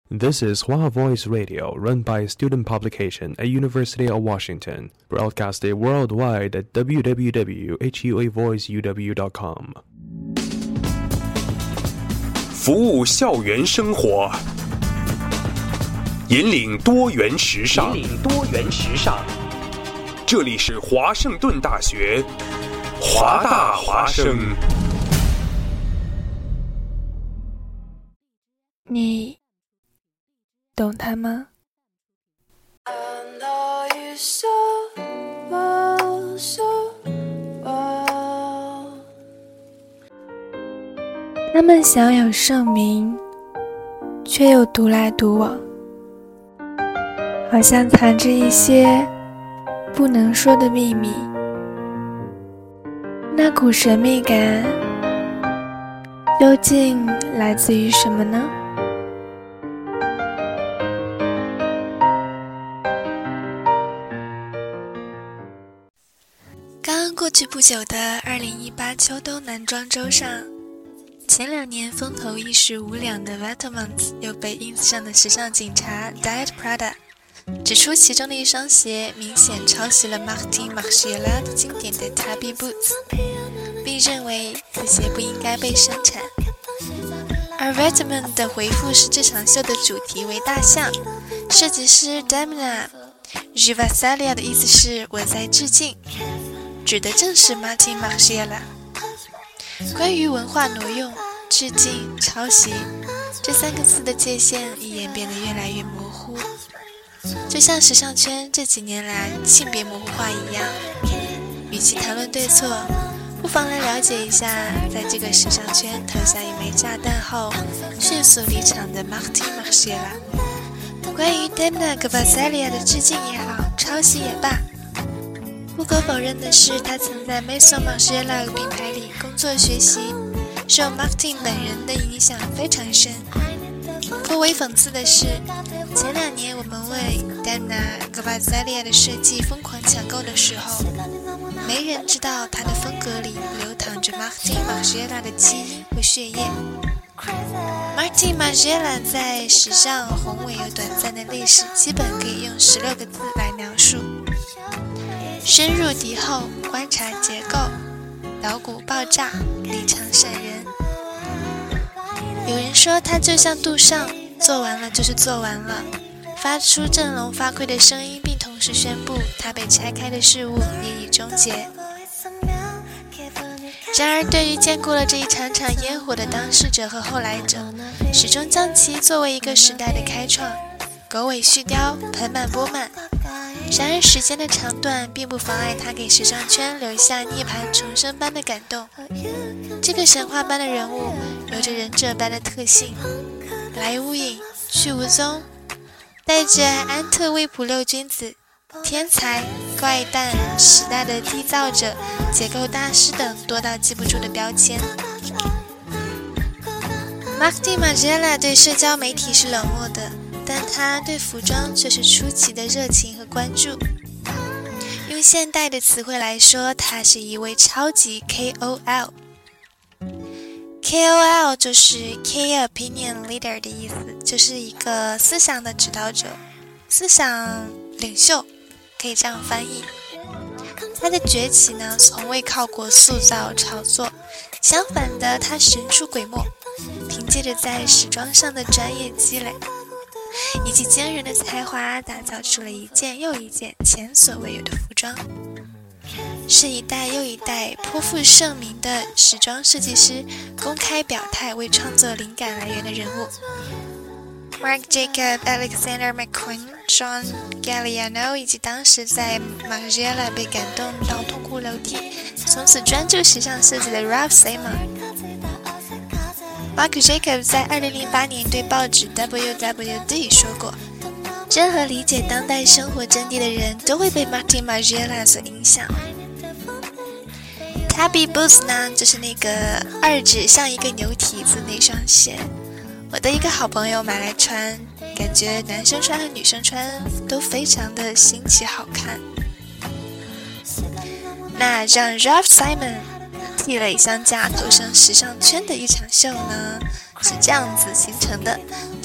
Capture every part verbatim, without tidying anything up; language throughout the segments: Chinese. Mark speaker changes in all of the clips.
Speaker 1: This is Hua Voice Radio, run by a student publication at University of Washington, broadcasted worldwide at w w w dot hua voice u w dot com.
Speaker 2: 服务校园生活，引领多元时尚。引领多元时尚。这里是华盛顿大学，华大华生。
Speaker 3: 你懂他吗？他们享有盛名，却又独来独往，好像藏着一些不能说的秘密。那股神秘感究竟来自于什么呢？刚过去不久的二零一八秋冬男装周上，前两年风头一时无两的 Vetements 又被 ins 上的时尚警察 Diet Prada 指出其中的一双鞋明显抄袭了 Martin Margiela 经典的 Tabby Boots， 并认为此鞋不应该被生产。而 Vetements 的回复是这场秀的主题为大象，设计师 Damina Gvasalia 的意思是我在致敬，指的正是 Martin Margiela。 关于文化挪用、致敬、抄袭这三个字的界限一眼变得越来越模糊，就像时尚圈这几年来性别模糊化一样。与其谈论对错，不妨来了解一下在这个时尚圈投下一枚炸弹后迅速离场的 Martin Margiela。 关于 Damina Gvasalia 的致敬也好，抄袭也罢，不可否认的是，他曾在 Maison Margiela 品牌里工作学习，受 Martin 本人的影响非常深。颇为讽刺的是，前两年我们为 Damina Gvasalia 的设计疯狂抢购的时候，没人知道他的风格里流淌着 Martin Margiela 的基因和血液。Martin Margiela 在时尚宏伟又短暂的历史，基本可以用十六个字来描述：深入敌后，观察结构，捣鼓爆炸，离场闪人。有人说他就像杜尚，做完了就是做完了，发出振聋发聩的声音，并同时宣布他被拆开的事物也已终结。然而对于见过了这一场场烟火的当事者和后来者，始终将其作为一个时代的开创，狗尾续貂，盆满钵满。然而时间的长短并不妨碍他给时尚圈留下涅槃重生般的感动。这个神话般的人物有着忍者般的特性，来无影去无踪，带着安特卫普六君子、天才、怪诞、时代的缔造者、结构大师等多到记不住的标签。Martin Margiela 对社交媒体是冷漠的，但他对服装却是出奇的热情和关注。用现代的词汇来说，他是一位超级 K O L。K O L 就是 Key Opinion Leader 的意思，就是一个思想的指导者，思想领袖，可以这样翻译。他的崛起呢，从未靠过塑造炒作，相反的，他神出鬼没，凭借着在时装上的专业积累以及惊人的才华，打造出了一件又一件前所未有的服装，是一代又一代颇负盛名的时装设计师公开表态为创作灵感来源的人物。Marc Jacob、Alexander McQueen、John Galliano 以及当时在 Margiela 被感动到痛哭流涕，从此专注时尚设计的 Ralph Simon。Marc Jacob 在二零零八年对报纸 W W D 说过，任何理解当代生活真谛的人都会被 Martin Margiela 所影响。Tabby Boots 呢，就是那个二指像一个牛蹄子那双鞋，我的一个好朋友买来穿，感觉男生穿和女生穿都非常的新奇好看。那让 Ralph Simon替雷相架投身时尚圈的一场秀呢，是这样子形成的，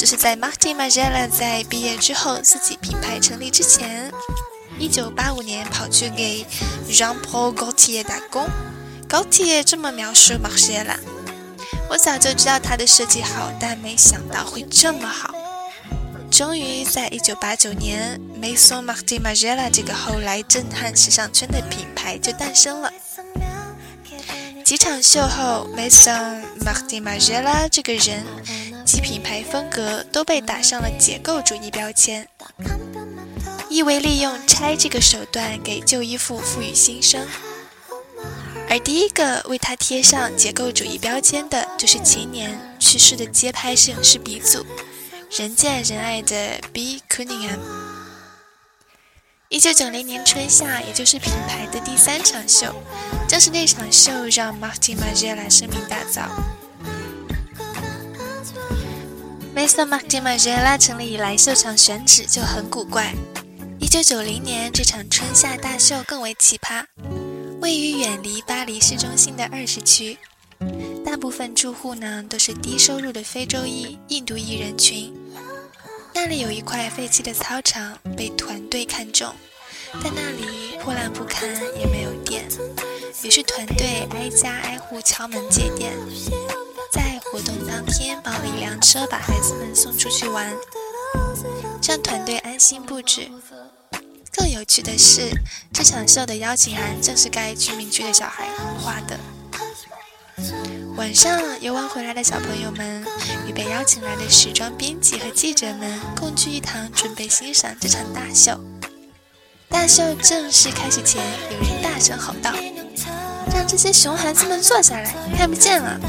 Speaker 3: 这是在 Martin Margiela 在毕业之后自己品牌成立之前，一九八五年跑去给 Jean-Paul Gaultier 打工。Gaultier 这么描述 Margiela： 我早就知道他的设计好，但没想到会这么好。终于在一九八九年 Maison Martin Margiela 这个后来震撼时尚圈的品牌就诞生了。几场秀后 Maison Martin Margiela 这个人及品牌风格都被打上了解构主义标签，意为利用拆这个手段给旧衣服赋予新生。而第一个为他贴上解构主义标签的就是前年去世的街拍摄影师鼻祖，人见人爱的 B. Cunningham。 一九九零年春夏，也就是品牌的第三场秀，正是那场秀让 Martin Margiela 声名大噪。Maison Martin Margiela 成立以来，秀场选址就很古怪。一九九零年这场春夏大秀更为奇葩，位于远离巴黎市中心的二十区，大部分住户呢都是低收入的非洲裔、印度裔人群。那里有一块废弃的操场被团队看中，但那里破烂不堪，也没有电，于是团队挨家挨户敲门借电，在活动当天包了一辆车把孩子们送出去玩，让团队安心布置。更有趣的是，这场秀的邀请函正是该居民区的小孩画的。晚上游玩回来的小朋友们与被邀请来的时装编辑和记者们共聚一堂，准备欣赏这场大秀。大秀正式开始前，有人大声吼道：“让这些熊孩子们坐下来，看不见了。”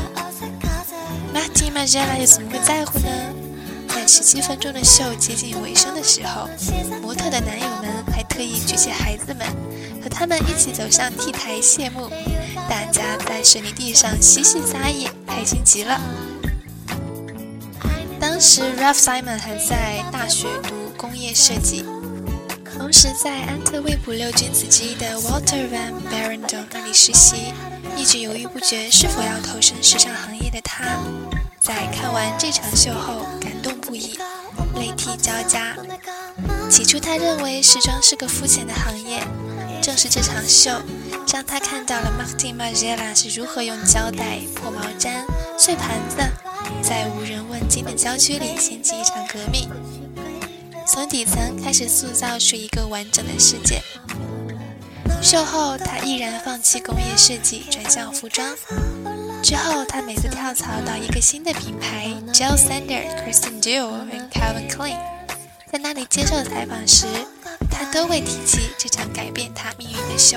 Speaker 3: Martin Margiela 又怎么会在乎呢？在十七分钟的秀接近尾声的时候，模特的男友们还特意举起孩子们，和他们一起走上 T 台谢幕。大家在水泥地上嬉戏撒野，开心极了。当时 Ralph Simon 还在大学读工业设计，同时在安特卫普六君子之一的 Walter van Barendonck 那里实习，一直犹豫不决是否要投身时尚行业的他，在看完这场秀后感动不已，泪涕交加。起初他认为时装是个肤浅的行业，正是这场秀让他看到了 Martin Margiela 是如何用胶带、破毛毡、碎盘子在无人问津的郊区里掀起一场革命，从底层开始塑造出一个完整的世界。秀后他毅然放弃工业设计，转向服装。之后他每次跳槽到一个新的品牌 Jill Sander、Christian Dior 和 Calvin Klein， 在那里接受采访时，他都会提起这场改变他命运的秀。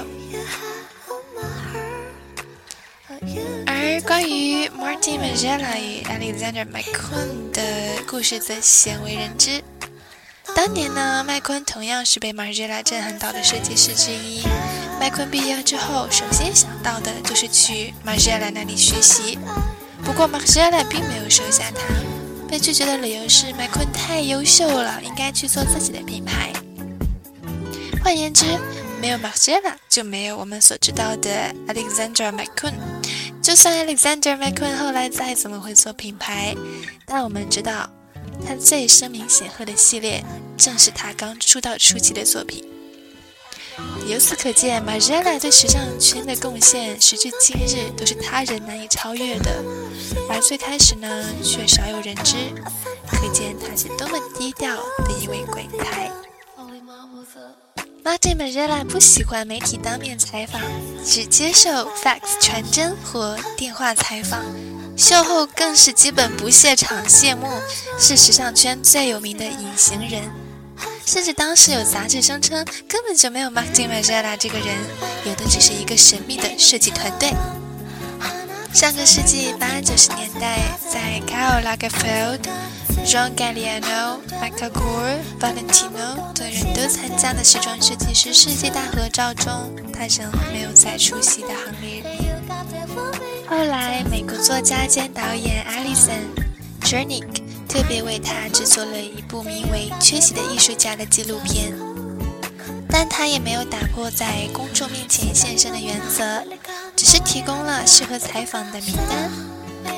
Speaker 3: 而关于 Martin Margiela 与 Alexander McQueen 的故事则鲜为人知。当年呢，麦昆同样是被 Margiela 震撼到的设计师之一。麦昆毕业之后，首先想到的就是去 Margiela 那里学习。不过 Margiela 并没有收下他，被拒绝的理由是麦昆太优秀了，应该去做自己的品牌。换言之，没有 Margiela 就没有我们所知道的 Alexander McQueen。就算 Alexander McQueen 后来再怎么会做品牌，但我们知道他最声名显赫的系列正是他刚出道初期的作品。由此可见 Margiela 对时尚圈的贡献时至今日都是他人难以超越的，而最开始呢却少有人知，可见他是多么低调的一位鬼才。Martin Margiela 不喜欢媒体当面采访，只接受 fax 传真或电话采访，秀后更是基本不屑场谢幕，是时尚圈最有名的隐形人。甚至当时有杂志声称根本就没有 Martin Margiela 这个人，有的只是一个神秘的设计团队。上个世纪八九十年代，在 Karl Lagerfeld、John Galliano、Michael Kors、Valentino 等人都参加的时装设计师世界大合照中，他仍没有再出席的行列里。后来美国作家兼导演 Alison Jernick 特别为他制作了一部名为《缺席的艺术家》的纪录片，但他也没有打破在公众面前现身的原则，只是提供了适合采访的名单，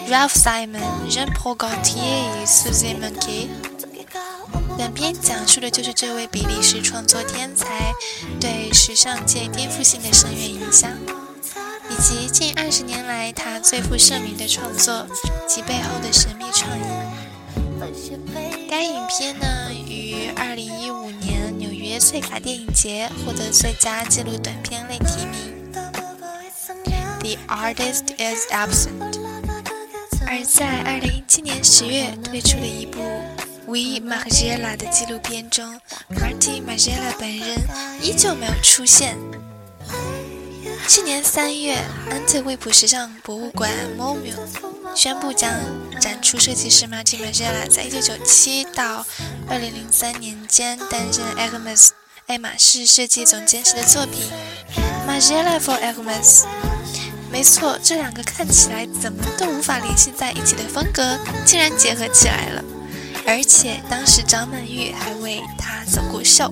Speaker 3: Ralph Simon、Jean-Paul Gaultier与 Suzy Monkey。本片讲述的就是这位比利时创作天才对时尚界颠覆性的深远影响，以及近二十年来他最负盛名的创作及背后的神秘创意。该影片呢，于二零一五年纽约翠卡电影节获得最佳纪录短片类提名。The artist is absent。而在二零一七年十月推出了一部We Margiela 的纪录片中 Martin Margiela 本人依旧没有出现。去年三月，安特卫普时尚博物馆 M O M U 宣布将展出设计师 Martin Margiela 在一九九七到二零零三年间担任 Hermes 爱马仕设计总监时的作品 Margiela for Hermes。没错，这两个看起来怎么都无法联系在一起的风格竟然结合起来了，而且当时张曼玉还为他走过秀。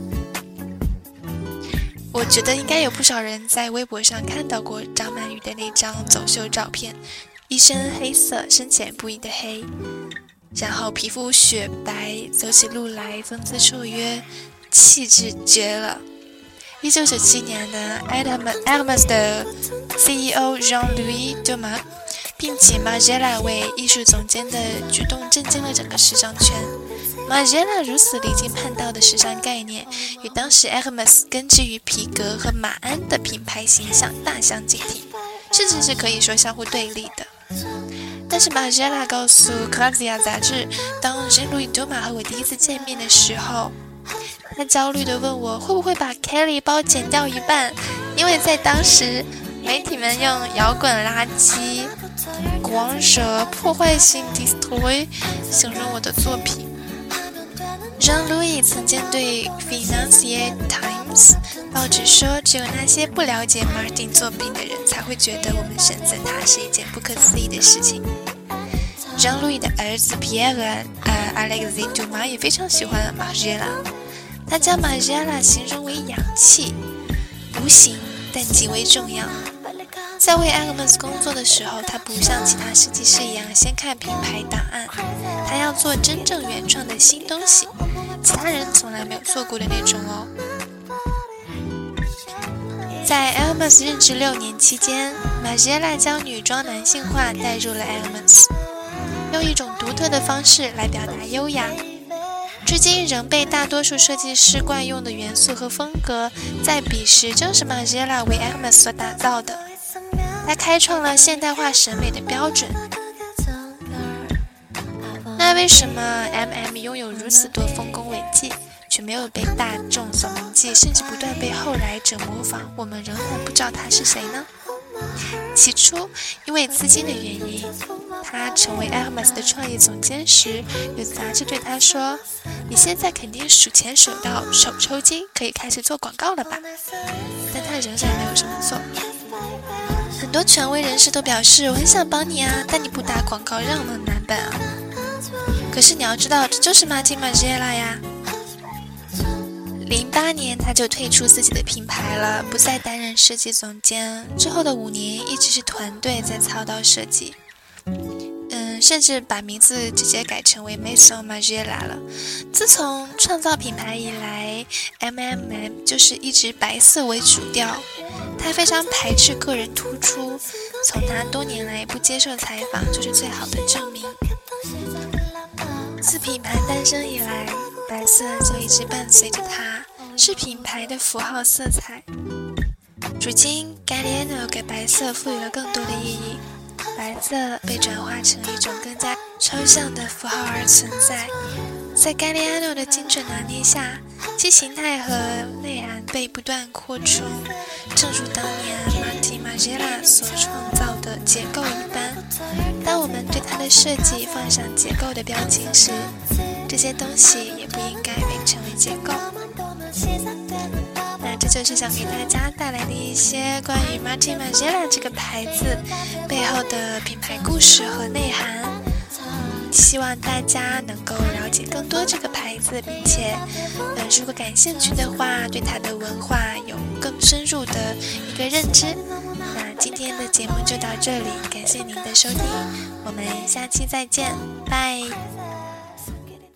Speaker 3: 我觉得应该有不少人在微博上看到过张曼玉的那张走秀照片，一身黑色，深浅不一的黑，然后皮肤雪白，走起路来风姿绰约，气质绝了。一九九七年的 Hermes 的 C E O Jean-Louis Dumas 并请 Margiela 为艺术总监的举动震惊了整个时尚圈。Margiela 如此离经叛道的时尚概念，与当时 Hermes 根植于皮革和马鞍的品牌形象大相径庭，甚至是可以说相互对立的。但是 Margiela 告诉 Grazia 杂志，当 Jean-Louis Dumas 和我第一次见面的时候，他焦虑地问我会不会把 Kelly 包剪掉一半，因为在当时媒体们用摇滚垃圾、狂蛇、破坏性 destroy 形容我的作品。Jean-Louis 曾经对 Financial Times 报纸说，只有那些不了解 Martin 作品的人才会觉得我们选择他是一件不可思议的事情。Jean-Louis 的儿子 Pierre、呃、Alexis Dumas 也非常喜欢 Margiela， 他将 Margiela 形容为氧气，无形但极为重要。在为 Hermes 工作的时候，他不像其他设计师一样先看品牌档案，他要做真正原创的新东西，其他人从来没有做过的那种哦。在 Hermes 任职六年期间， Margiela 将女装男性化带入了 Hermes， 用一种独特的方式来表达优雅。至今仍被大多数设计师惯用的元素和风格，在彼时正是 Margiela 为 Hermes 所打造的。他开创了现代化审美的标准。那为什么 M M 拥有如此多丰功伟绩，却没有被大众所铭记，甚至不断被后来者模仿，我们仍然不知道他是谁呢？起初，因为资金的原因，他成为 Hermes 的创意总监时，有杂志对他说：“你现在肯定数钱数到手抽筋，可以开始做广告了吧？”但他仍然没有这么做。很多权威人士都表示：“我很想帮你啊，但你不打广告，让我们难办啊。”可是你要知道，这就是 Martin Margiela 呀。零八年他就退出自己的品牌了，不再担任设计总监。之后的五年一直是团队在操刀设计，嗯，甚至把名字直接改成为 Maison Margiela 了。自从创造品牌以来 ，M M M 就是一直白色为主调。他非常排斥个人突出，从他多年来不接受采访就是最好的证明。自品牌诞生以来，白色就一直伴随着它，是品牌的符号色彩。如今 Galliano 给白色赋予了更多的意义，白色被转化成一种更加抽象的符号而存在。在 Galliano 的精准拿捏下，其形态和内涵被不断扩充，正如当年 Martin Margiela 所创造的结构一般。当我们对它的设计放上结构的标签时，这些东西也不应该被称为结构。那这就是想给大家带来的一些关于 Martin Margiela 这个牌子背后的品牌故事和内涵。希望大家能够了解更多这个牌子，并且呃，如果感兴趣的话，对它的文化有更深入的一个认知， 那今天的节目就到这里，感谢您的收听，我们下期再见，拜。